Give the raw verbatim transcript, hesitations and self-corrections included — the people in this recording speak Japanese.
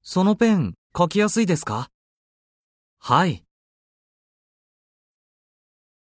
そのペン、書きやすいですか？はい。